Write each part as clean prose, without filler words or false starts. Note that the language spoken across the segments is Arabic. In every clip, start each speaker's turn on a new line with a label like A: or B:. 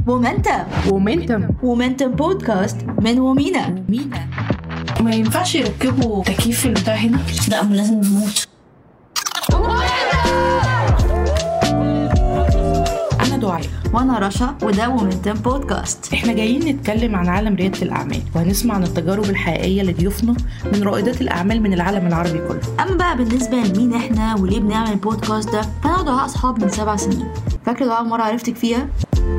A: مومنتم بودكاست من ومينا.
B: ما ينفعش يركبوا تكييف البتاع هنا؟
C: لا، ما لازم نموت.
B: أنا دعاء
A: وانا رشا، وده مومنتم بودكاست.
B: احنا جايين نتكلم عن عالم ريادة الأعمال، وهنسمع عن التجارب الحقيقية لضيوفنا من رائدات الأعمال من العالم العربي كله.
A: اما بقى بالنسبة لمين احنا وليه بنعمل البودكاست ده، فانا دعاء اصحاب من 7 سنين. فاكرة دعاء مرة عرفتك فيها؟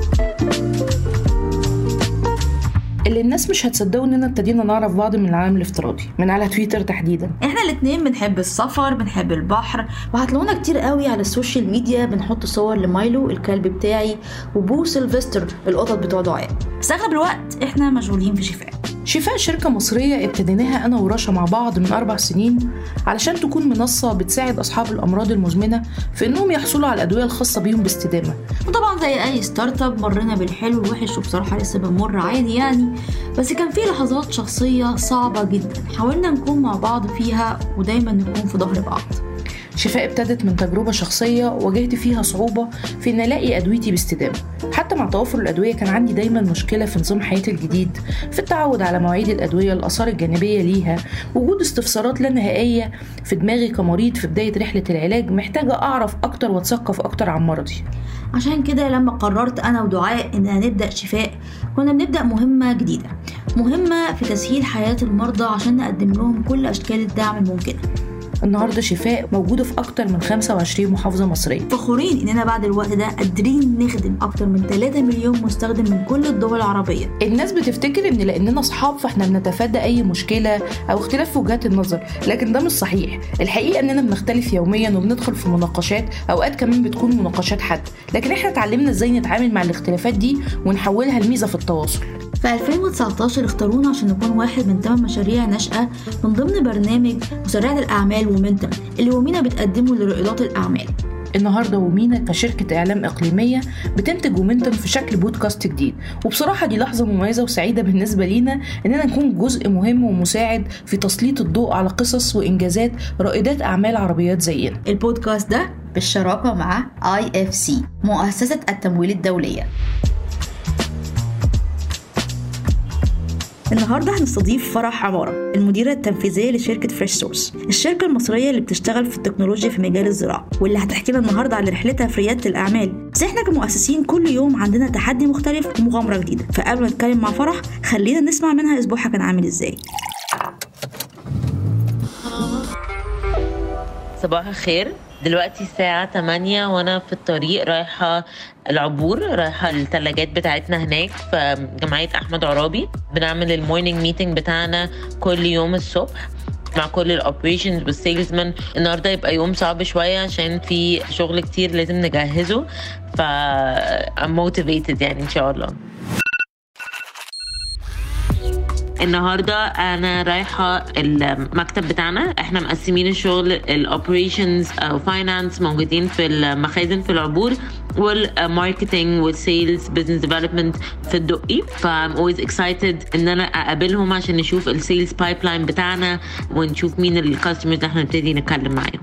B: اللي الناس مش هتصدقوا اننا ابتدينا نعرف بعض من العالم الافتراضي، من على تويتر تحديدا.
A: احنا الاتنين بنحب السفر، بنحب البحر، وهتلاقونا كتير قوي على السوشيال ميديا بنحط صور لمايلو الكلب بتاعي وبو سيلفستر القطط بتوع دعاء. بس اغلب الوقت احنا مشغولين في
B: شفاء شركة مصرية ابتديناها أنا ورشا مع بعض من 4 سنين علشان تكون منصة بتساعد أصحاب الأمراض المزمنة في إنهم يحصلوا على الأدوية الخاصة بيهم باستدامة.
A: وطبعا زي أي ستارت اب مرنا بالحلو والوحش، وبصراحة لسه بنمر عادي يعني، بس كان في لحظات شخصية صعبة جدا حاولنا نكون مع بعض فيها ودايما نكون في ظهر بعض.
B: شفاء ابتدت من تجربة شخصية واجهت فيها صعوبة في إن ألاقي أدويتي باستدامة. حتى مع توفر الأدوية كان عندي دايما مشكلة في نظام حياتي الجديد، في التعود على مواعيد الأدوية، الآثار الجانبية ليها، وجود استفسارات لا نهائية في دماغي كمريض في بداية رحلة العلاج، محتاجة أعرف أكتر وأتثقف أكتر عن مرضي.
A: عشان كده لما قررت أنا ودعاء إننا نبدأ شفاء، كنا بنبدأ مهمة جديدة، مهمة في تسهيل حياة المرضى عشان نقدم لهم كل أشكال الدعم الممكنة.
B: النهاردة شفاء موجودة في أكتر من 25 محافظة مصرية.
A: فخورين إننا بعد الوقت ده قادرين نخدم أكتر من 3 مليون مستخدم من كل الدول العربية.
B: الناس بتفتكر إن لأننا أصحاب فإحنا بنتفادى أي مشكلة أو اختلاف في وجهات النظر، لكن ده مش صحيح. الحقيقة إننا بنختلف يوميا وبندخل في مناقشات، أوقات كمان بتكون مناقشات حد، لكن إحنا اتعلمنا إزاي نتعامل مع الاختلافات دي ونحولها لميزة في التواصل.
A: في 2019 اختارونا عشان نكون واحد من 8 مشاريع ناشئة من ضمن برنامج مسرعة الأعمال ومنتم اللي ومينا بتقدمه لرائدات الأعمال.
B: النهاردة ومينا كشركة إعلام إقليمية بتنتج ومنتم في شكل بودكاست جديد، وبصراحة دي لحظة مميزة وسعيدة بالنسبة لينا إننا نكون جزء مهم ومساعد في تسليط الضوء على قصص وإنجازات رائدات أعمال عربيات زينا.
A: البودكاست ده بالشراكة مع IFC مؤسسة التمويل الدولية. النهاردة هنستضيف فرح عمارة، المديرة التنفيذية لشركة فريش سورس، الشركة المصرية اللي بتشتغل في التكنولوجيا في مجال الزراعة، واللي هتحكي لنا النهاردة عن رحلتها في ريادة الأعمال. بس احنا كمؤسسين كل يوم عندنا تحدي مختلف ومغامرة جديدة، فقبل ما نتكلم مع فرح خلينا نسمع منها أسبوعها كان عامل ازاي.
C: صباح الخير. دلوقتي الساعة 8 وانا في الطريق رايحة العبور، رايحة الثلاجات بتاعتنا هناك في جمعية أحمد عرابي. بنعمل المورنينج ميتنج بتاعنا كل يوم الصبح مع كل الاوبريشنز والسيلزمان. النهارده يبقى يوم صعب شوية عشان في شغل كتير لازم نجهزه، I'm motivated يعني إن شاء الله. النهاردة أنا رايحة المكتب بتاعنا، احنا مقسمين الشغل الأوبريشنز أو فاينانس موجودين في المخازن في العبور، والماركتينج والسيلز بزنس ديفلوبمنت في الدقي. فأم always excited إن أنا أقابلهم عشان نشوف السيلز بايبلاين بتاعنا ونشوف مين الكاستمرز اللي احنا نبتدي نتكلم معاهم.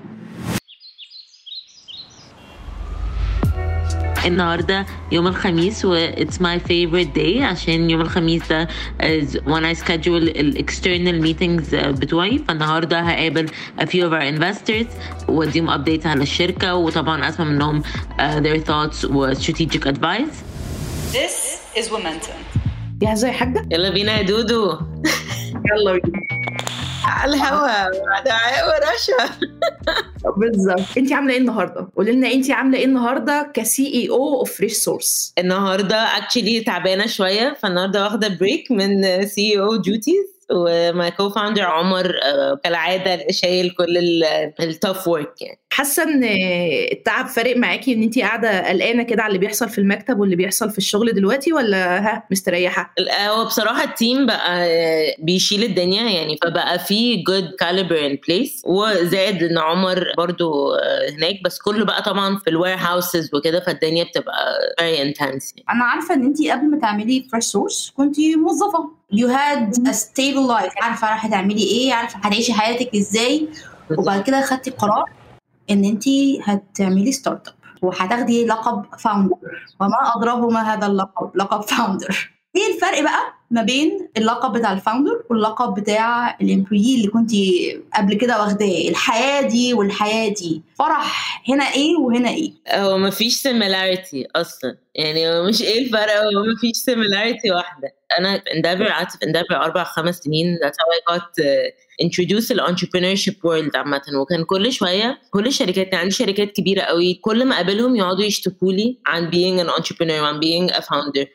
C: النهاردة يوم الخميس و it's my favorite day عشان يوم الخميس ده is when I schedule external meetings بتوعي. فالنهاردة هقابل a few of our investors واديهم updates على الشركة، وطبعا أسمع منهم their thoughts و strategic advice.
D: This is Momentum.
B: جاهزة يا حاجة؟
C: يلا بينا يا دودو.
B: يلا بينا
C: على الهوا دعاء ورشا.
B: بالظبط. انتي عامله ايه النهارده؟ قولي لنا انتي عامله ايه النهارده كسي اي او اوف فريش سورس.
E: النهارده اكشلي تعبانه شويه، فالنهارده واخده بريك من سي او ديوتيز، وما كو فاوندر عمر كالعاده شايل كل التوف ورك. يعني
B: حاسه ان التعب فارق معاكي ان انتي قاعده قلقانه كده على اللي بيحصل في المكتب واللي بيحصل في الشغل دلوقتي، ولا مستريحه؟
E: هو بصراحه التيم بقى بيشيل الدنيا يعني، فبقى في good caliber in place، وزائد ان عمر برضو هناك، بس كله بقى طبعا في الوير هاوسز وكده، فالدنيا بتبقى very intense.
A: انا عارفه ان انتي قبل ما تعملي فريش سورس كنتي موظفه، you had a stable life، عارفه راح تعملي ايه، عارفه هتعيشي حياتك ازاي، وبعد كده خدتي قرار ان انتي هتعملي ستارت اب. وهتاخدي لقب فاوندر، وما أضربه ما هذا اللقب، لقب فاوندر. ايه الفرق بقى ما بين اللقب بتاع الفاوندر واللقب بتاع الامبلويي اللي كنتي قبل كده واخداه؟ الحياة دي والحياة دي، فرح هنا ايه وهنا ايه؟
E: هو مفيش similarity اصلا، يعني هو مش ايه الفرق، هو مفيش similarity واحدة. انا في Endeavor قعدت في Endeavor 4-5 سنين. that's how I got introduced to the entrepreneurship world عامة. وكان كل شوية كل الشركات، كان عندي شركات كبيرة قوي، كل ما اقابلهم يقعدوا يشتكوا لي عن being an entrepreneur وعن being a founder،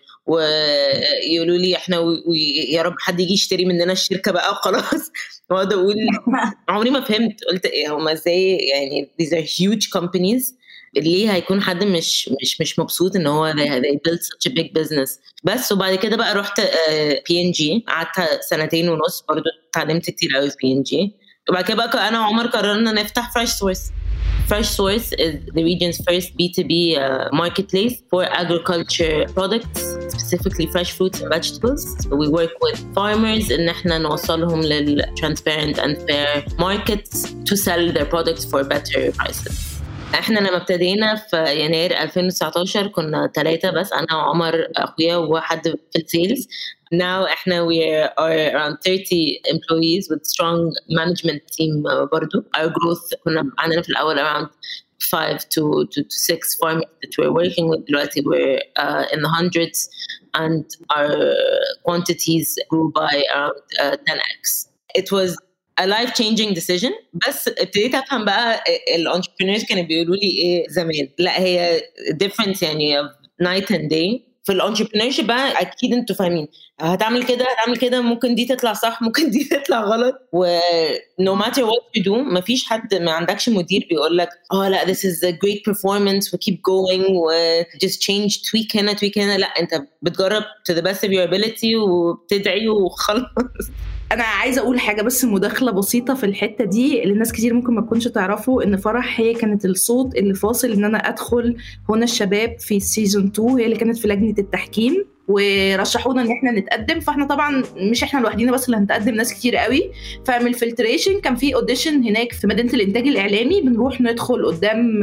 E: ويقولوا لي احنا يا رب حد يجي يشتري مننا الشركة بقى وخلاص. واقعد اقول عمري ما فهمت، قلت ايه هما ازاي يعني these are huge companies، ليه هيكون حد مش مبسوط ان هو they build such a big business. بس وبعد كده بقى رحت P&G، قعدت 2.5 سنين برضو، اتعلمت كتير قوي في P&G. وبعد كده بقى انا وعمر قررنا نفتح Fresh Source. Fresh Source is the region's first B2B marketplace for agriculture products, specifically fresh fruits and vegetables. So we work with farmers إن احنا نوصلهم لل transparent and fair markets to sell their products for better prices. احنا لما ابتدينا في يناير 2019 كنا 3 بس، انا وعمر اخويا وواحد في السيلز. Now احنا we are around 30 employees with strong management team برضو. Our growth كنا عندنا في الأول around 5 to 6 farmers that we're working with. دلوقتي we're in the hundreds and our quantities grew by around 10x. It was a life-changing decision. بس ابتديت أفهم بقى الانتربرينورز كانوا بيقولوا لي إيه زمان. لا هي difference يعني night and day. في الانتربرينورشيب بقى اكيد انتوا فاهمين هتعمل كده هتعمل كده، ممكن دي تطلع صح ممكن دي تطلع غلط، و no matter what you do مفيش حد، ما عندكش مدير بيقول لك لا this is a great performance و keep going و just change tweak هنا tweak هنا. لا انت بتجرب to the best of your ability وبتدعي وخلاص.
B: انا عايزه اقول حاجه بس، مداخله بسيطه في الحته دي اللي الناس كتير ممكن ما تكونش تعرفوا، ان فرح هي كانت الصوت اللي فاصل ان انا ادخل هنا الشباب في سيزون 2. هي اللي كانت في لجنه التحكيم ورشحونا ان احنا نتقدم. فاحنا طبعا مش احنا لوحدينا بس اللي هنتقدم، ناس كتير قوي. فمن الفلتريشن كان في اوديشن هناك في مدينه الانتاج الاعلامي، بنروح ندخل قدام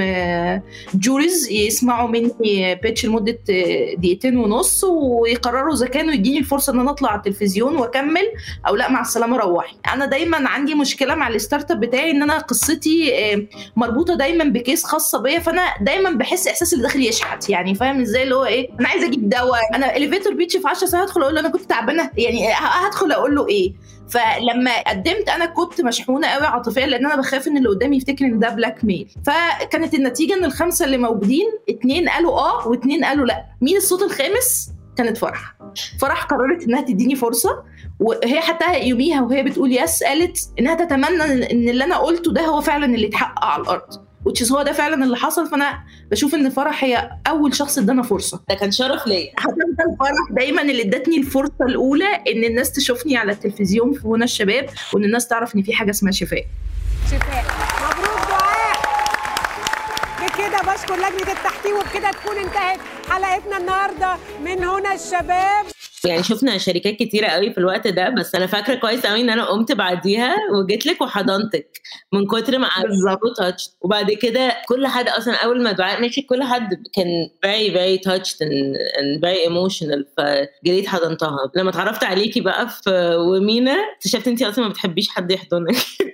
B: جوريز يسمعوا مني بيتش لمده 2.5 دقيقة ويقرروا اذا كانوا يديني الفرصه ان انا اطلع على التلفزيون واكمل او لا مع السلامه روحي. انا دايما عندي مشكله مع الستارت اب بتاعي ان انا قصتي مربوطه دايما بكيس خاصه بيا، فانا دايما بحس احساس اللي داخل يشحت، يعني فاهم ازاي اللي هو ايه، انا عايزه اجيب دواء، انا اليفيتور بيتش في 10 ساعات هدخل اقول له انا كنت تعبانه، يعني هدخل اقول له ايه. فلما قدمت انا كنت مشحونه قوي عاطفيا، لان انا بخاف ان اللي قدامي يفتكر ان ده بلاك ميل. فكانت النتيجه ان ال5 اللي موجودين 2 قالوا و2 قالوا لا. مين الصوت الخامس؟ كانت فرح قررت انها تديني فرصه، وهي حتى يوميها وهي بتقول يس قالت انها تتمنى ان اللي انا قلته ده هو فعلا اللي اتحقق على الارض، which هو ده فعلا اللي حصل. فانا بشوف ان فرح هي اول شخص ادانا فرصه.
E: ده كان شرف ليا.
B: هتفضل فرح دايما اللي ادتني الفرصه الاولى ان الناس تشوفني على التلفزيون في هنا الشباب، وان الناس تعرف ان في حاجه اسمها شفاء.
F: مبروك دعاء. بكده بشكر لجنه التحكيم، وبكده تكون انتهت حلقتنا النهارده من هنا الشباب.
E: يعني شفنا شركات كتيرة قوي في الوقت ده، بس أنا فاكرة كويس قوي إن أنا قمت بعديها وجيت لك وحضنتك من كتر ما قعدت. وبعد كده كل حد أصلا أول ما دعاء مشي كل حد كان very very touched and very emotional، فجريت حضنتها. لما اتعرفت عليكي بقى في ومينا اكتشفت أنتي أصلا ما بتحبيش حد يحضنك.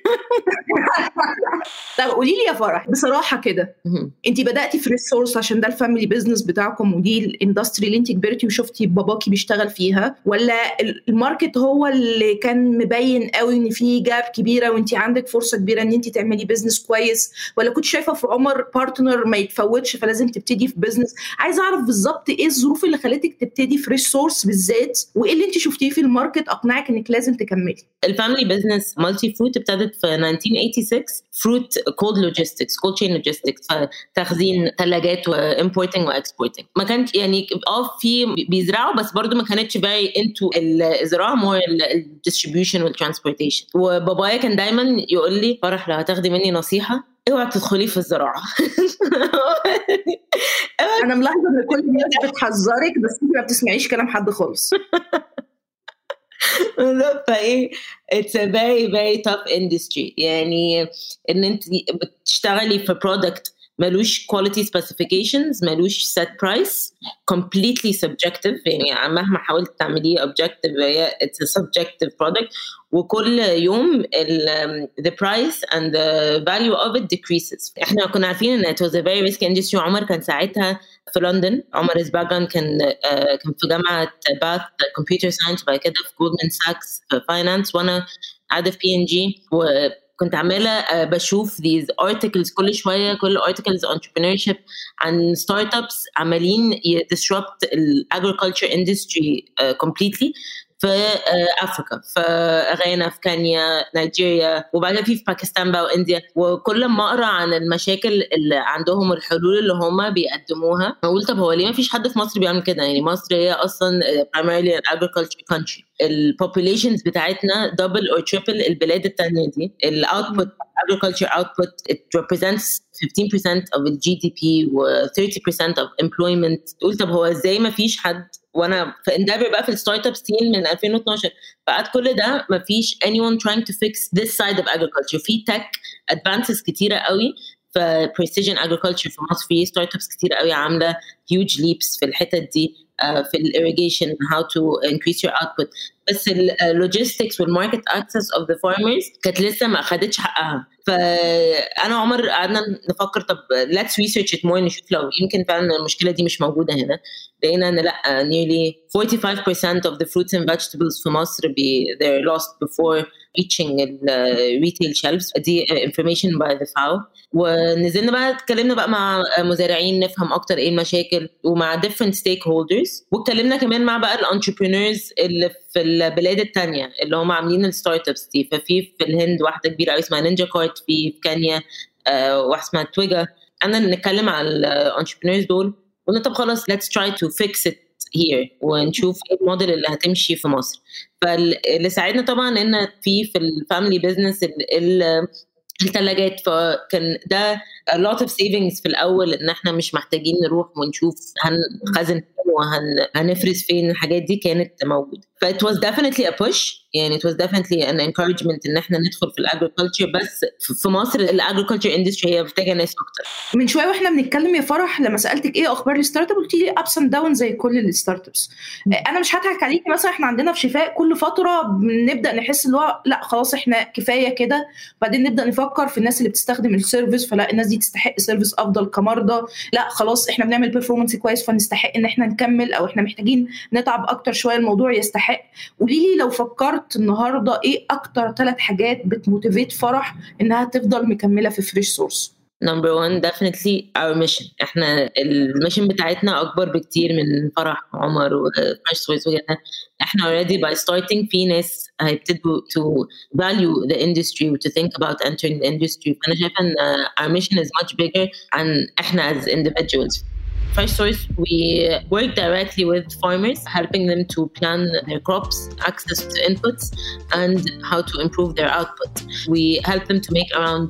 B: طب قولي لي يا فرح بصراحة كده، أنتي بدأتي فريش سورس عشان ده الفاميلي بيزنس بتاعكم ودي الاندستري اللي أنتي كبرتي وشفتي باباكي بيشتغل فيها، ولا الماركت هو اللي كان مبين قوي ان في جاب كبيره وانت عندك فرصه كبيره ان انت تعملي بيزنس كويس، ولا كنت شايفه في عمر بارتنر ما يتفوتش فلازم تبتدي في بيزنس؟ عايزه اعرف بالظبط ايه الظروف اللي خلتك تبتدي فريش سورس بالذات، وايه اللي انت شفتيه في الماركت اقنعك انك لازم تكملي.
E: الفاميلي بيزنس مالتي فروت ابتدت في 1986. فروت كولد لوجيستكس، كولد تشين لوجيستكس، تخزين ثلاجات وامبورتنج واكسبورتنج. ما كانش يعني في بيزرعوا بس برضو ما كانتش very into الزراعة، more الdistribution والtransportation. وبابايا كان دايما يقول لي فرح لو هتاخدي مني نصيحة اوعى تدخلي في الزراعة.
B: انا ملاحظة ان كل الناس بتحذرك بس انت ما بتسمعيش كلام حد خالص.
E: فايه it's a very very tough industry، يعني ان انت بتشتغلي في product ملوش quality specifications، ملوش set price، completely subjective. يعني مهما حاولت تعمليه objective it's a subjective product، وكل يوم the price and the value of it decreases. احنا كنا عارفين ان it was a very risky industry. عمر كان ساعتها في لندن، عمر his background كان في جامعة باث computer science، وبعد كده في Goldman Sachs في finance، وانا قاعدة في P&G، كنت عمالة بشوف these articles كل شوية، كل articles entrepreneurship عن startups عمالين disrupt agriculture industry completely في أفريقيا، في غانا، في كينيا، نيجيريا، وبعدها في باكستان بقى وإنديا. وكل ما أقرأ عن المشاكل اللي عندهم والحلول اللي هم بيقدموها، أقول طب هو ليه ما فيش حد في مصر بيعمل كده؟ يعني مصر هي أصلا primarily an agriculture country. الpopulations بتاعتنا double or triple البلاد التانية دي. الoutput agriculture output it represents 15% of the GDP و 30% of employment. تقول طب هو ازاي ما فيش حد؟ وانا في اندابر بقى في الستارت اب سين من 2012 بعد كل ده ما فيش anyone trying to fix this side of agriculture. في tech advances كتيرة قوي في precision agriculture في مصر، في ستارت ابس كتيرة قوي عاملة huge leaps في الحتة دي، في irrigation how to increase your output. بس logistics والmarket access of the farmers كانت لسه ما أخدتش حقها. فأنا عمر قعدنا نفكر طب let's research it more، نشوف لو يمكن فعلا المشكلة دي مش موجودة هنا. لقينا أن لأ، nearly 45% of the fruits and vegetables في مصر they're lost before reaching retail shelves. دي information by the FAO. ونزلنا بقى اتكلمنا بقى مع مزارعين نفهم أكتر إيه المشاكل، ومع different stakeholders، واتكلمنا كمان مع بقى الانتربرينورز اللي في البلاد التانية اللي هم عاملين الستارت ابس دي. ففي الهند واحدة كبيرة قوي اسمها نينجا كارت، في كينيا واحدة اسمها تويجا. أنا نتكلم على الانتربرينورز دول، قلنا طب خلاص let's try to fix it here ونشوف ايه الموديل اللي هتمشي في مصر. فاللي ساعدنا طبعا ان في الفاميلي بيزنس الثلاجات، فكان ده a lot of savings في الأول، إن إحنا مش محتاجين نروح ونشوف هنخزن وهنفرز فين. الحاجات دي كانت موجودة. ف it was definitely a push، يعني it was definitely an encouragement إن إحنا ندخل في الagriculture. بس في مصر الagriculture industry هي محتاجة ناس أكتر.
B: من شوية وإحنا بنتكلم يا فرح لما سألتك إيه أخبار الستارت اب، قلتي لي ups and downs زي كل الستارت ابس. أنا مش هضحك عليكي، مثلا إحنا عندنا في شفاء كل فترة بنبدأ نحس اللي هو لا خلاص إحنا كفاية كده، بعدين نبدأ نفكر في الناس اللي بتستخدم السيرفيس، فلا الناس دي تستحق سيرفيس أفضل كمرضى، لا خلاص إحنا بنعمل بيرفورمانس كويس فنستحق إن إحنا نكمل، أو إحنا محتاجين نتعب أكتر شوية الموضوع يستحق. قوليلي لو فكرت النهاردة إيه أكتر 3 حاجات بتموتيفيت فرح إنها تفضل مكملة في فريش سورس؟
E: Number 1 definitely our mission. احنا الميشن بتاعتنا اكبر بكتير من فرح عمر وفريش سورس وكده. احنا already by starting في ناس هيبتدوا to value the industry و to think about entering the industry. فانا شايفه ان our mission is much bigger عن احنا as individuals. Fresh Source, we work directly with farmers, helping them to plan their crops, access to inputs, and how to improve their output. We help them to make around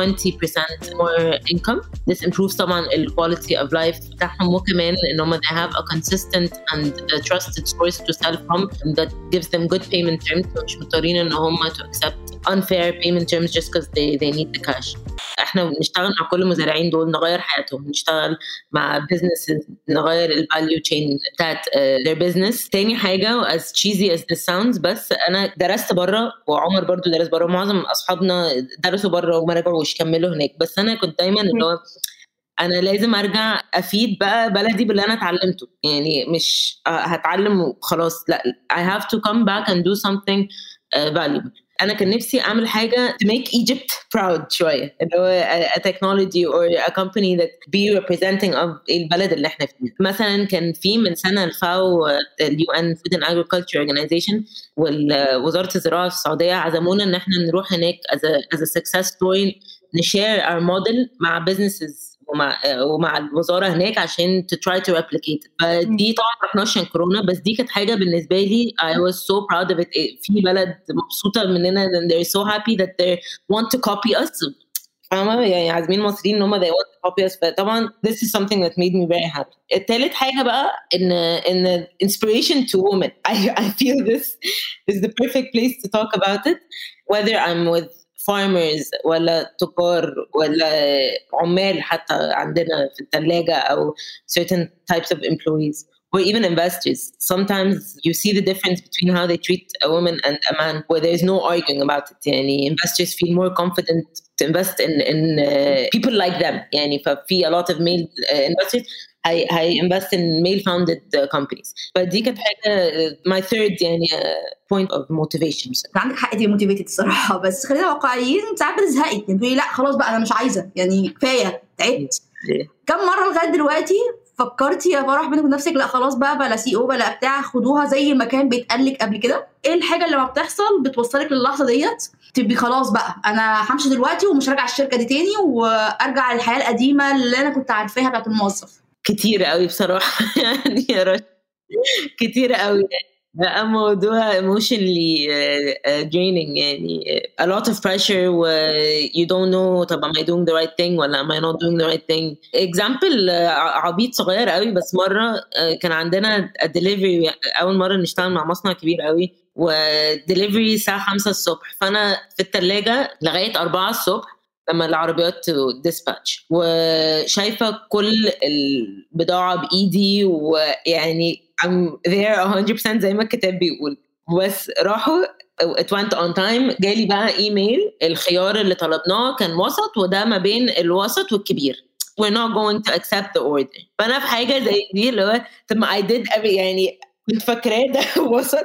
E: 20% more income. This improves طبعا the quality of life بتاعهم، وكمان إنهم they have a consistent and a trusted source to sell from that gives them good payment terms. مش مضطرين إن هم to accept unfair payment terms just because they need the cash. احنا بنشتغل مع كل المزارعين دول نغير حياتهم، نشتغل مع businesses نغير الفاليو تشين بتاعت their business. تاني حاجة as cheesy as this sounds، بس أنا درست برا وعمر برضو درس برا، معظم أصحابنا درسوا برا وما رجعوش كملوا هناك. بس أنا كنت دايما اللي هو أنا لازم أرجع أفيد بقى بلدي باللي أنا اتعلمته، يعني مش هتعلم وخلاص، لا I have to come back and do something valuable. أنا كان نفسي أعمل حاجة to make Egypt proud شوية، اللي هو a technology or a company that be representing of البلد اللي احنا فيه. مثلا كان في من سنة الفاو UN Food and Agriculture Organization ووزارة الزراعة في السعودية عزمونا إن احنا نروح هناك as a success story، نشير our model مع businesses ومع الوزارة هناك عشان to try to replicate it. فدي طبعا رحناش عشان كورونا، بس دي كانت حاجة بالنسبة لي I was so proud of it. في بلد مبسوطة مننا and they're so happy that they want to copy us. يعني عازمين مصريين ان هم they want to copy us. فطبعا this is something that made me very happy. الثالث حاجة بقى إن inspiration to women. I feel this is the perfect place to talk about it. Whether I'm with farmers ولا تجار ولا عمال حتى عندنا في الثلاجة أو certain types of employees or even investors. Sometimes you see the difference between how they treat a woman and a man where there is no arguing about it. يعني investors feel more confident to invest in people like them. يعني ففي a lot of male investors هي invest in male founded companies. فدي كانت حاجة my third يعني point of motivation.
A: عندك حق دي motivated الصراحة، بس خلينا واقعيين، ساعات بتزهقي يعني تقولي لا خلاص بقى أنا مش عايزة، يعني كفاية تعبت. كم مرة لغاية دلوقتي فكرتي يا فرح بينك وبنفسك لا خلاص بقى بلا سي او بلا بتاع، خدوها زي ما كان بيتقالك قبل كده؟ ايه الحاجه اللي ما بتحصل بتوصلك للحظه ديت تبقي خلاص بقى انا همشي دلوقتي ومش راجعه الشركه دي تاني وارجع للحياه القديمه اللي انا كنت عارفاها بتاعت الموظف؟
E: كتير قوي بصراحه يعني يا رشا كتير قوي. بقى موضوع emotionally draining يعني a lot of pressure و you don't know طب am I doing the right thing ولا am I not doing the right thing. example عبيط صغير قوي، بس مرة كان عندنا delivery أول مرة نشتغل مع مصنع كبير قوي ودelivery الساعة 5 الصبح، فأنا في الثلاجة لغاية 4 الصبح لما العربيات dispatch وشايفة كل البضاعة بإيدي ويعني I'm there 100% زي ما الكتاب بيقول. بس راحوا it went on time، جالي بقى ايميل الخيار اللي طلبناه كان وسط وده ما بين الوسط والكبير we're not going to accept the order. فأنا في حاجة زي دي اللي هو طب ما I did يعني كنت فاكراه ده وسط.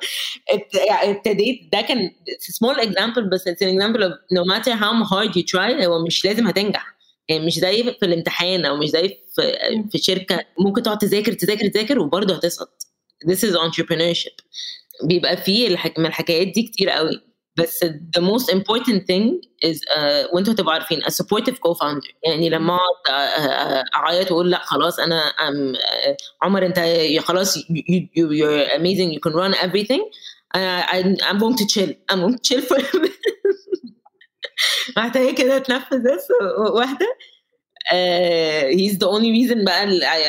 E: ابتديت ده كان small example بس it's an example of no matter how hard you try هو مش لازم هتنجح. يعني مش زي في الامتحان او مش زي في شركه ممكن تقعد تذاكر وبرضه هتسقط. This is entrepreneurship. بيبقى فيه من الحكايات دي كتير قوي، بس the most important thing is وانتوا تبقوا عارفين a supportive co-founder. يعني لما اعيط واقول لا خلاص انا عمر انت خلاص you're amazing you can run everything I'm going to chill for محتاجة كده تنفذ بس واحدة. he's the only reason بقى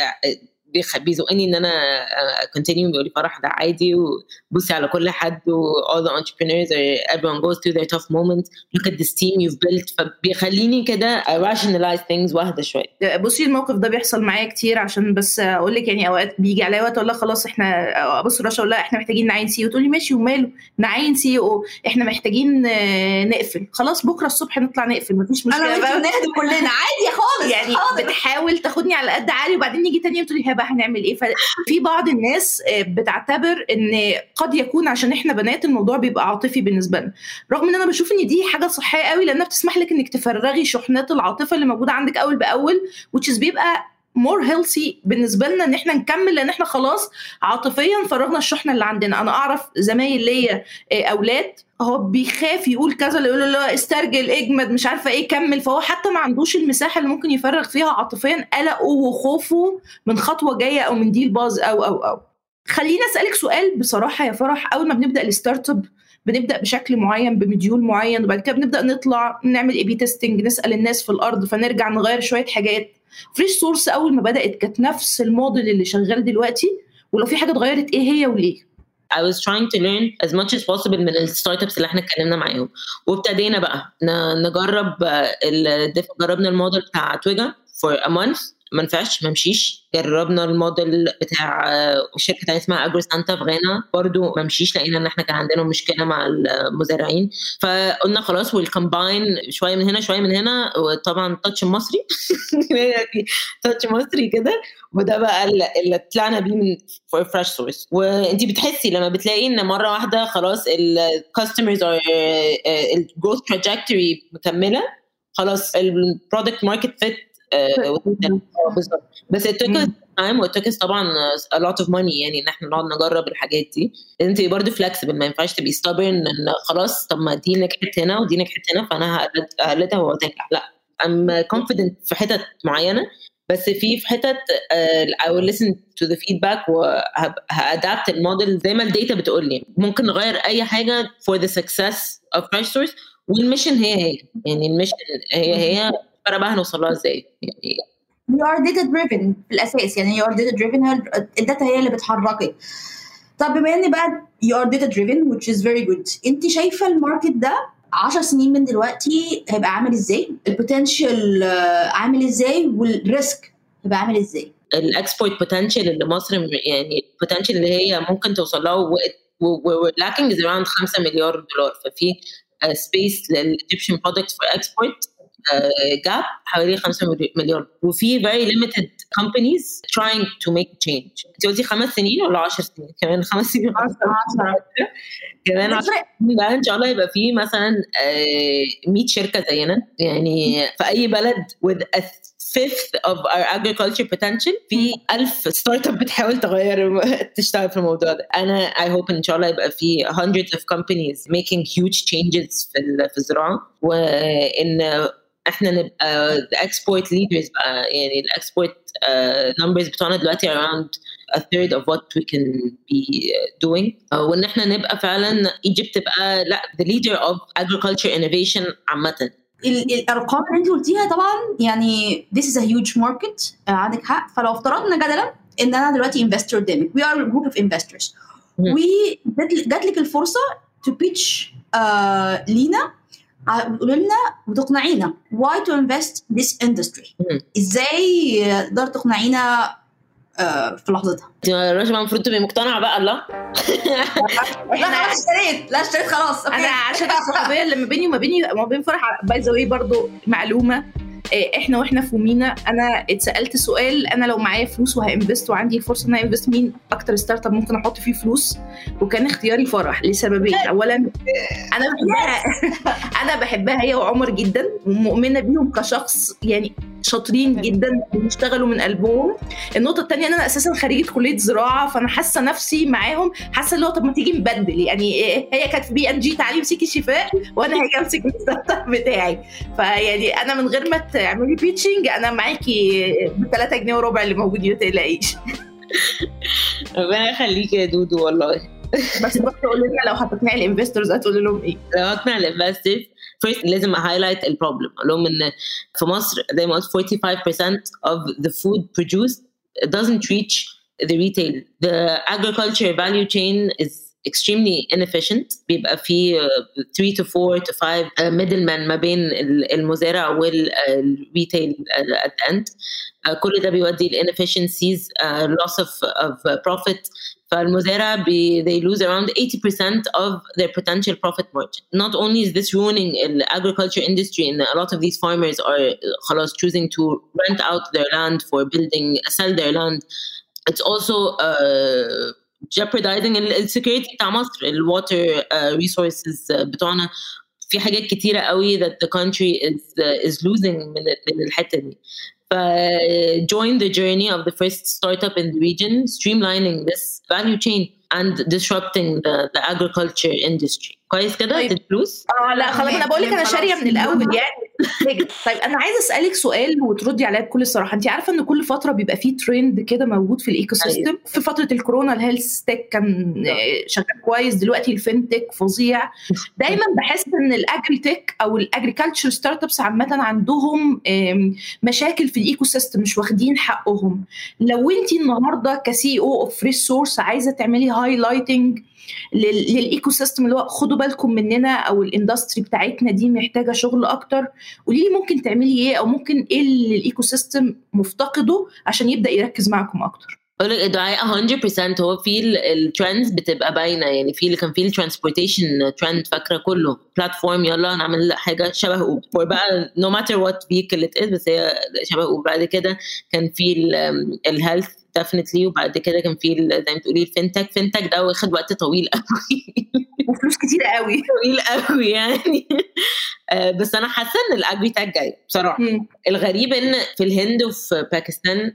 E: بيزقني ان انا continue بيقول لي فرح ده عادي وبصي على كل حد all the entrepreneurs everyone goes through their tough moments look at this team you've built. فبيخليني كده rationalize things واحدة شوية.
B: بصي الموقف ده بيحصل معايا كتير، عشان بس اقول لك يعني اوقات بيجي عليا وقت اقول لها خلاص احنا بص رشا ولا احنا محتاجين نعين سي او، تقول لي ماشي وماله نعين سي او، احنا محتاجين نقفل خلاص بكره الصبح نطلع نقفل مفيش مشكله
A: بقى نهدى كلنا عادي خالص
B: يعني بتحاول تاخدني على قد عالي وبعدين نيجي تاني يوم تقول لي بقى هنعمل ايه. ففي بعض الناس بتعتبر ان قد يكون عشان احنا بنات الموضوع بيبقى عاطفي بالنسبه لنا، رغم ان انا بشوف ان دي حاجه صحيه قوي لانها بتسمح لك انك تفرغي شحنات العاطفه اللي موجوده عندك اول باول which is بيبقى more healthy بالنسبه لنا ان احنا نكمل لان احنا خلاص عاطفيا فرغنا الشحنه اللي عندنا. انا اعرف زمايل ليا اولاد هو بيخاف يقول كذا اللي يقول له استرجل اجمد مش عارفه ايه كمل، فهو حتى ما عندوش المساحه اللي ممكن يفرغ فيها عاطفيا قلقه وخوفه من خطوه جايه او من ديل باز او خلينا اسالك سؤال بصراحه يا فرح. اول ما بنبدا الستارت اب بنبدا بشكل معين بمديول معين وبعد كده بنبدا نطلع نعمل اي بي تيستنج نسال الناس في الارض فنرجع نغير شويه حاجات. فريش سورس اول ما بدات كانت نفس الموديل اللي شغال دلوقتي، ولو في حاجه اتغيرت ايه هي وليه؟
E: I was trying to learn as much as possible من الستارت ابس اللي احنا اتكلمنا معاهم، وابتدينا بقى نجرب جربنا الموديل بتاع تويجا for a month ما نفعش ما مشيش. جربنا الموديل بتاع شركه تانية اسمها اجرو سانتا في غانا برضو ما مشيش، لقينا ان احنا كان عندنا مشكله مع المزارعين فقلنا خلاص والكمباين شويه من هنا شويه من هنا، وطبعا تاتش مصري تاتش مصري كده، وده بقى اللي طلعنا بيه من فريش سورس. وانتي بتحسي لما بتلاقي ان مره واحده خلاص الكاستمرز او الجروث تراجكتوري مكمله خلاص البرودكت ماركت فيت بالظبط. بس التوكس تايم والتوكس طبعا a lot of money يعني ان احنا نقعد نجرب الحاجات دي. انت برضه فلكسبل ما ينفعش تبقي stubborn ان خلاص طب ما دي نجحت هنا ودي نجحت هنا فانا هقلدها وهتنجح. لا I'm confident في حتت معينه، بس في حتت I will listen to the feedback وهadapt الموديل زي ما الداتا بتقول لي. ممكن نغير اي حاجه for the success of fresh source والميشن هي يعني الميشن هي بقى هنوصلها ازاي يعني.
A: you are data driven في الاساس يعني you are data driven الداتا هي اللي بتحركك. طب بما ان بقى you are data driven which is very good، انت شايفه الماركت ده 10 سنين من دلوقتي هيبقى عامل ازاي، البوتنشال عامل ازاي، والريسك هيبقى عامل ازاي.
E: الاكسبورت بوتنشال اللي مصر يعني البوتنشال اللي هي ممكن توصل له lacking is around $5 مليار. ففي سبيس للإيجيبشن برودكت فور اكسبورت جاب حوالي 5 مليار، وفي very limited companies trying to make change. انت قلتي 5 سنين ولا 10 سنين؟ كمان 5 سنين 10 كمان 10 سنين بقى ان شاء الله يبقى في مثلا 100 شركه زينا يعني في اي بلد with a fifth of our agriculture potential. في 1000 ستارت اب بتحاول تشتغل في الموضوع ده. انا I hope ان شاء الله يبقى في hundreds of companies making huge changes في الزراعه، وان احنا نبقى the export leaders بقى. يعني the export numbers بتوعنا دلوقتي around a third of what we can be doing. وان احنا نبقى فعلا Egypt تبقى لا the leader of agriculture innovation عامة.
A: الارقام اللي انت قلتيها طبعا يعني this is a huge market. عندك حق. فلو افترضنا جدلا ان انا دلوقتي investor قدامك, we are a group of investors, وجات لك الفرصه to pitch لينا, قولوا لنا وتقنعينا why to invest this industry. ازاي تقدر تقنعينا في لحظتها؟
E: رشا المفروض تبقي مقتنعه بقى. الله
A: لا اشتريت خلاص.
B: انا عشان الصحوبيه اللي ما بيني وما بين فرح باي ذا واي برضو معلومه, احنا واحنا في مينا انا اتسالت سؤال, انا لو معايا فلوس وهانفست وعندي الفرصه ان انا انفست مين اكتر ستارت اب ممكن احط فيه فلوس, وكان اختياري فرح لسببين. اولا انا بحبها هي وعمر جدا ومؤمنه بيهم كشخص, يعني شاطرين جدا بيشتغلوا من قلبهم. النقطه الثانيه ان انا اساسا خريجه كليه زراعه, فانا حاسه نفسي معاهم, حاسه اللي هو طب ما تيجي نبدل. يعني هي كانت في BNG تعليم سيكي شفاء وانا هاجي امسك الستارت اب بتاعي, فيعني انا من غير ما تعملي بيتشنج انا معاكي ب3 جنيه وربع اللي موجودين, ما تقلقيش.
E: ربنا يخليكي يا دودو والله.
B: بس تقول لنا لو هتقنعي الانفستورز هتقول لهم ايه؟
E: لو هقنع الانفستورز first لازم هايلايت البروبلم, اقول لهم ان في مصر زي ما قلت 45% of the food produced doesn't reach the retail. The agriculture value chain is extremely inefficient. بيبقى في 3 to 4 to 5 middlemen ما بين المزارع والريتيل at the end. كل ده بيودي ل inefficiencies, loss of profit. فالمزارع they lose around 80% of their potential profit margin. Not only is this ruining the agriculture industry, and a lot of these farmers are خلاص choosing to rent out their land for building, sell their land. It's also jeopardizing السكيورتي بتاع مصر, الwater resources بتوعنا. في حاجات كتيرة قوي that the country is losing من الحتة دي. Join the journey of the first startup in the region, streamlining this value chain and disrupting the agriculture industry. كويس كده؟
B: طيب.
E: الفلوس؟
B: لا خلاص, انا بقول لك انا شاريه من الاول يعني. طيب انا عايزه اسالك سؤال وتردي عليا بكل صراحه. انت عارفه ان كل فتره بيبقى فيه ترند كده موجود في الايكو سيستم. في فتره الكورونا الهيلث تك كان شغال كويس, دلوقتي الفينتك فظيع. دايما بحس ان الاجري تك او الاجريكلتشر ستارت ابس عامه عندهم مشاكل في الايكو سيستم, مش واخدين حقهم. لو انت النهارده كسي او اوف فريش سورس عايزه تعملي هايلايتنج للايكو سيستم اللي هو خدوا بالكم مننا او الاندستري بتاعتنا دي محتاجه شغل اكتر, قولي لي ممكن تعملي ايه, او ممكن ايه اللي الايكو سيستم مفتقده عشان يبدا يركز معكم اكتر؟
E: اقول لك دعاء 100%. هو في الترندز بتبقى باينه, يعني في اللي كان في الترانسبورتيشن ترند, فاكره كله بلاتفورم يلا نعمل حاجه شبه اوبر بقى, نو ماتر وات فيكل ات از, بس هي شبه اوبر. بعد كده كان في الهيلث definitely, وبعد كده كان في زي ما تقولي الفينتك ده واخد وقت طويل قوي
B: وفلوس كتير قوي
E: طويل قوي يعني. بس انا حاسه ان الاجري تاك جاي بصراحه. الغريب ان في الهند وفي باكستان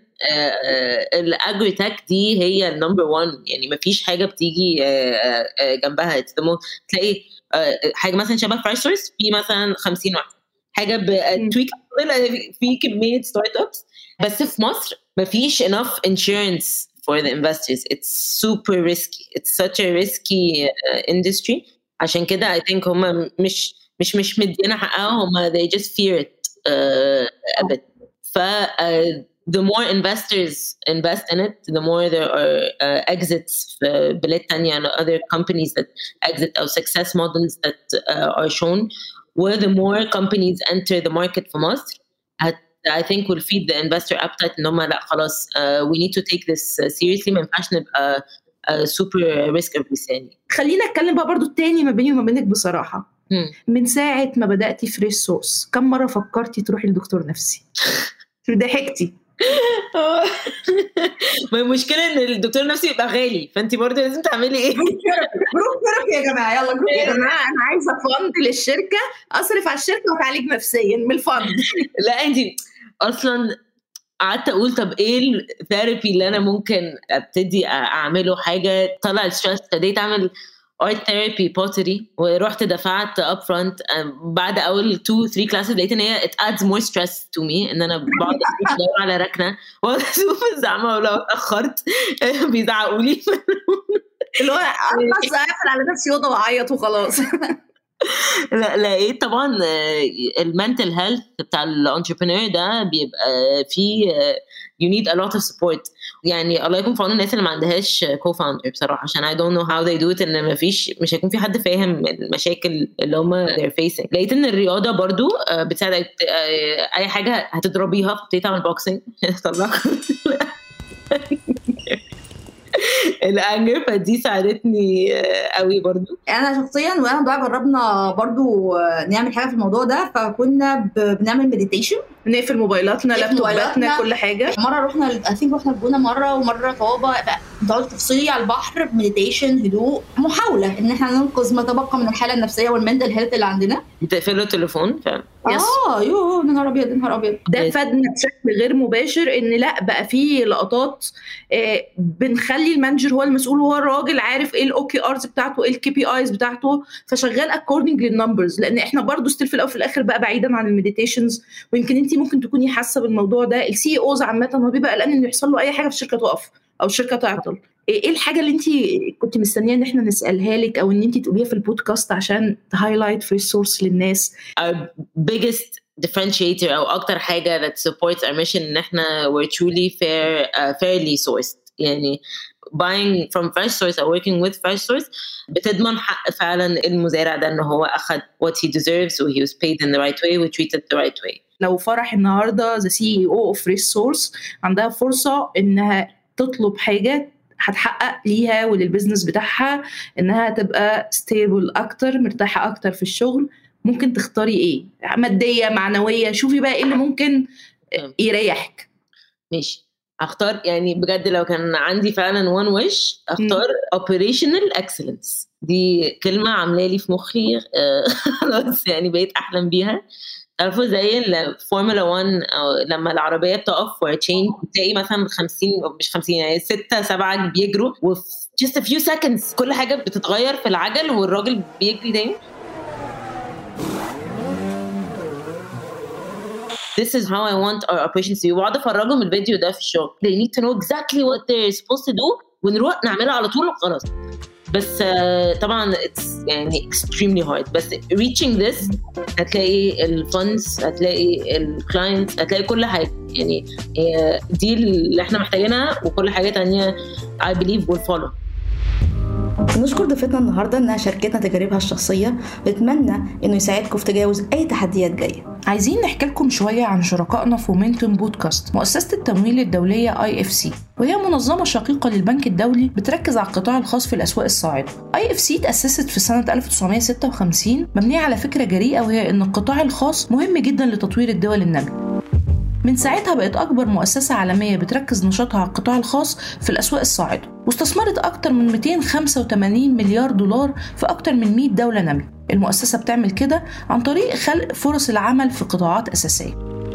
E: الاجري تاك دي هي النمبر 1, يعني ما فيش حاجه بتيجي جنبها. تلاقي حاجه مثلا شبه فرايسورس في مثلا 50 واحد, حاجه بتويك في كميه ستارت ابس. بس في مصر ما فيش enough insurance for the investors. It's super risky. It's such a risky industry. عشان كده I think هم مش مدينا حقها, هم they just fear it a bit. the more investors invest in it, the more there are exits في بلاد تانية and other companies that exit or success models that are shown, where the more companies enter the market في مصر, I think will feed the investor appetite إن هم لا خلاص we need to take this seriously, ما ينفعش نبقى super risk averse يعني.
B: خلينا اتكلم بقى برضو التاني ما بيني وما بينك بصراحة. من ساعة ما بدأتي فريش سورس كم مرة فكرتي تروحي لدكتور نفسي؟ ضحكتي.
E: ما المشكلة ان الدكتور النفسي يبقى غالي، فانتي برضه لازم تعملي ايه؟
B: جروب ثيرابي يا جماعة، يلا جروب يا جماعة، انا عايزة فند للشركة اصرف على الشركة واتعالج نفسيا من الفند.
E: لا انتي اصلا قعدت اقول طب ايه الثيرابي اللي انا ممكن ابتدي اعمله، حاجة طلع الستريس. ابتديت اعمل art therapy pottery ورحت دفعت upfront. بعد اول 2-3 classes لقيت ان هي it adds more stress to me ان انا بقعد ادور على ركنه واشوف الزعمه ولو اتاخرت بيزعقوا لي
B: اللي هو اقفل على نفسي اوضه واعيط وخلاص.
E: لا لقيت طبعا المنتل هيلث بتاع الانتربرينور ده بيبقى فيه you need a lot of support. يعني الله يكون في عون الناس اللي ما عندهاش co-founder بصراحة، عشان I don't know how they do it، ان مش هيكون في حد فاهم المشاكل اللي هم they're facing. لقيت ان الرياضة برضو بتساعدك اي حاجة هتضربيها، فابتديت اعمل بوكسينج طلعكم الانجر، فدي ساعدتني قوي برضو.
A: انا شخصيا وانا ضاع جربنا برضو نعمل حاجه في الموضوع ده، فكنا بنعمل مديتيشن،
B: نقفل موبايلاتنا لابتوباتنا كل حاجه.
A: مره رحنا رحنا الجونه مره، ومره طوابه بتقعد تفصلي على البحر، مديتيشن، هدوء، محاوله ان احنا ننقذ ما تبقى من الحاله النفسيه والمنتل هيلث اللي عندنا.
E: بتقفلوا التليفون فعلا.
A: يوه نهار ابيض.
B: ده فادنا بشكل غير مباشر ان لا بقى في لقطات بنخلي المانجر هو المسؤول، هو الراجل عارف ايه الاوكي ارز بتاعته، ايه الكي بي ايز بتاعته، فشغال اكوردنج للنمبرز. لان احنا برضو ستيل في الاول في الاخر بقى بعيدا عن المديتيشنز، ويمكن انت ممكن تكوني حاسه بالموضوع ده. السي اوز عامه هو بيبقى قلقان انه يحصل له اي حاجه في الشركه تقف او الشركه تعطل. ايه الحاجه اللي انت كنت مستنيه ان احنا نسالها لك او ان انت تقوليها في البودكاست عشان تهايلايت فريش سورس للناس؟
E: Our biggest differentiator او اكتر حاجه that supports our mission ان احنا we're truly fairly sourced. يعني buying from fresh source or working with fresh source بتضمن حق فعلا المزارع ده ان هو اخذ what he deserves و he was paid in the right way و treated the right way.
B: لو فرح النهارده the CEO of fresh source عندها فرصه انها تطلب حاجه هتحقق ليها وللبزنس بتاعها انها تبقى ستيبل اكتر، مرتاحه اكتر في الشغل، ممكن تختاري ايه؟ ماديه، معنويه؟ شوفي بقى ايه اللي ممكن يريحك.
E: ماشي، اختار يعني بجد لو كان عندي فعلا one wish اختار operational excellence. دي كلمه عامله لي في مخي خلاص يعني بقيت احلم بيها. تعرفوا زي الفورمولا 1 لما العربيه بتقف وتشين تلاقي مثلا 50 مش 50 يعني 6-7 بيجروا وفي just a few seconds كل حاجه بتتغير في العجل والراجل بيجري تاني. This is how I want our operations to be. وقعد افرجهم الفيديو ده في الشغل. They need to know exactly what they're supposed to do ونروح نعملها على طول وخلاص. بس طبعا it's يعني extremely hard. بس reaching this هتلاقي الفندز، هتلاقي الكلاينتس، هتلاقي كل حاجة. يعني دي اللي احنا محتاجينها وكل حاجة تانية I believe will follow.
A: نشكر ضيفتنا النهارده انها شاركتنا تجاربها الشخصيه، ونتمنى انه يساعدكم في تجاوز اي تحديات جايه.
B: عايزين نحكي لكم شويه عن شركائنا في مومنتوم بودكاست، مؤسسه التمويل الدوليه IFC، وهي منظمه شقيقه للبنك الدولي بتركز على القطاع الخاص في الاسواق الصاعده. IFC تاسست في سنه 1956 مبنيه على فكره جريئه، وهي ان القطاع الخاص مهم جدا لتطوير الدول الناميه. من ساعتها بقت أكبر مؤسسة عالمية بتركز نشاطها على القطاع الخاص في الأسواق الصاعدة، واستثمرت أكتر من 285 مليار دولار في أكتر من 100 دولة نامية. المؤسسة بتعمل كده عن طريق خلق فرص العمل في قطاعات أساسية.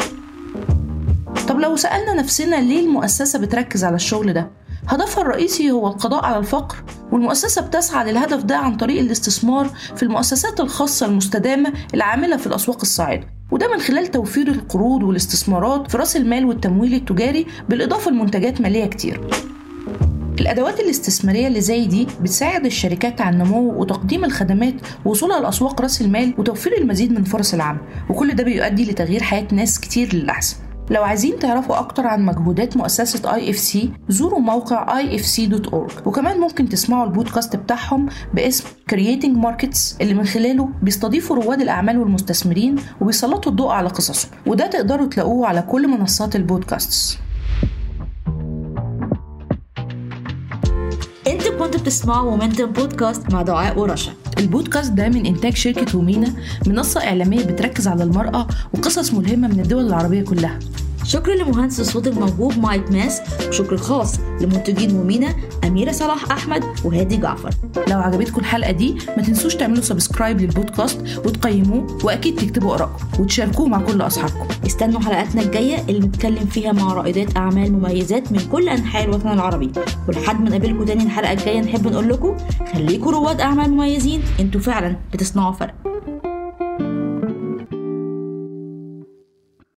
B: طب لو سألنا نفسنا ليه المؤسسة بتركز على الشغل ده؟ هدفها الرئيسي هو القضاء على الفقر، والمؤسسة بتسعى للهدف ده عن طريق الاستثمار في المؤسسات الخاصة المستدامة العاملة في الأسواق الصاعدة، وده من خلال توفير القروض والاستثمارات في رأس المال والتمويل التجاري، بالإضافة لمنتجات مالية كتير. الأدوات الاستثمارية اللي زي دي بتساعد الشركات على النمو وتقديم الخدمات ووصولها لأسواق رأس المال وتوفير المزيد من فرص العمل، وكل ده بيؤدي لتغيير حياة ناس كتير للأحسن. لو عايزين تعرفوا أكتر عن مجهودات مؤسسة IFC زوروا موقع ifc.org، وكمان ممكن تسمعوا البودكاست بتاعهم باسم Creating Markets اللي من خلاله بيستضيفوا رواد الأعمال والمستثمرين وبيسلطوا الضوء على قصصهم، وده تقدروا تلاقوه على كل منصات البودكاست.
A: انتوا كنتوا بتسمعوا مومنتم بودكاست مع دعاء ورشا.
B: البودكاست ده من إنتاج شركة ومينا، منصة إعلامية بتركز على المرأة وقصص ملهمة من الدول العربية كلها.
A: شكرا لمهندس الصوت الموهوب مايك ماس، وشكر خاص لمنتجين ومينا أميرة صلاح أحمد وهادي جعفر.
B: لو عجبتكم الحلقة دي ما تنسوش تعملوا سبسكرايب للبودكاست وتقيموه، وأكيد تكتبوا آراءكم وتشاركوه مع كل أصحابكم.
A: استنوا حلقاتنا الجاية اللي نتكلم فيها مع رائدات أعمال مميزات من كل أنحاء الوطن العربي. ولحد ما نقابلكم تاني الحلقة الجاية نحب نقول لكم خليكم رواد أعمال مميزين، انتوا فعلا بتصنعوا فرق.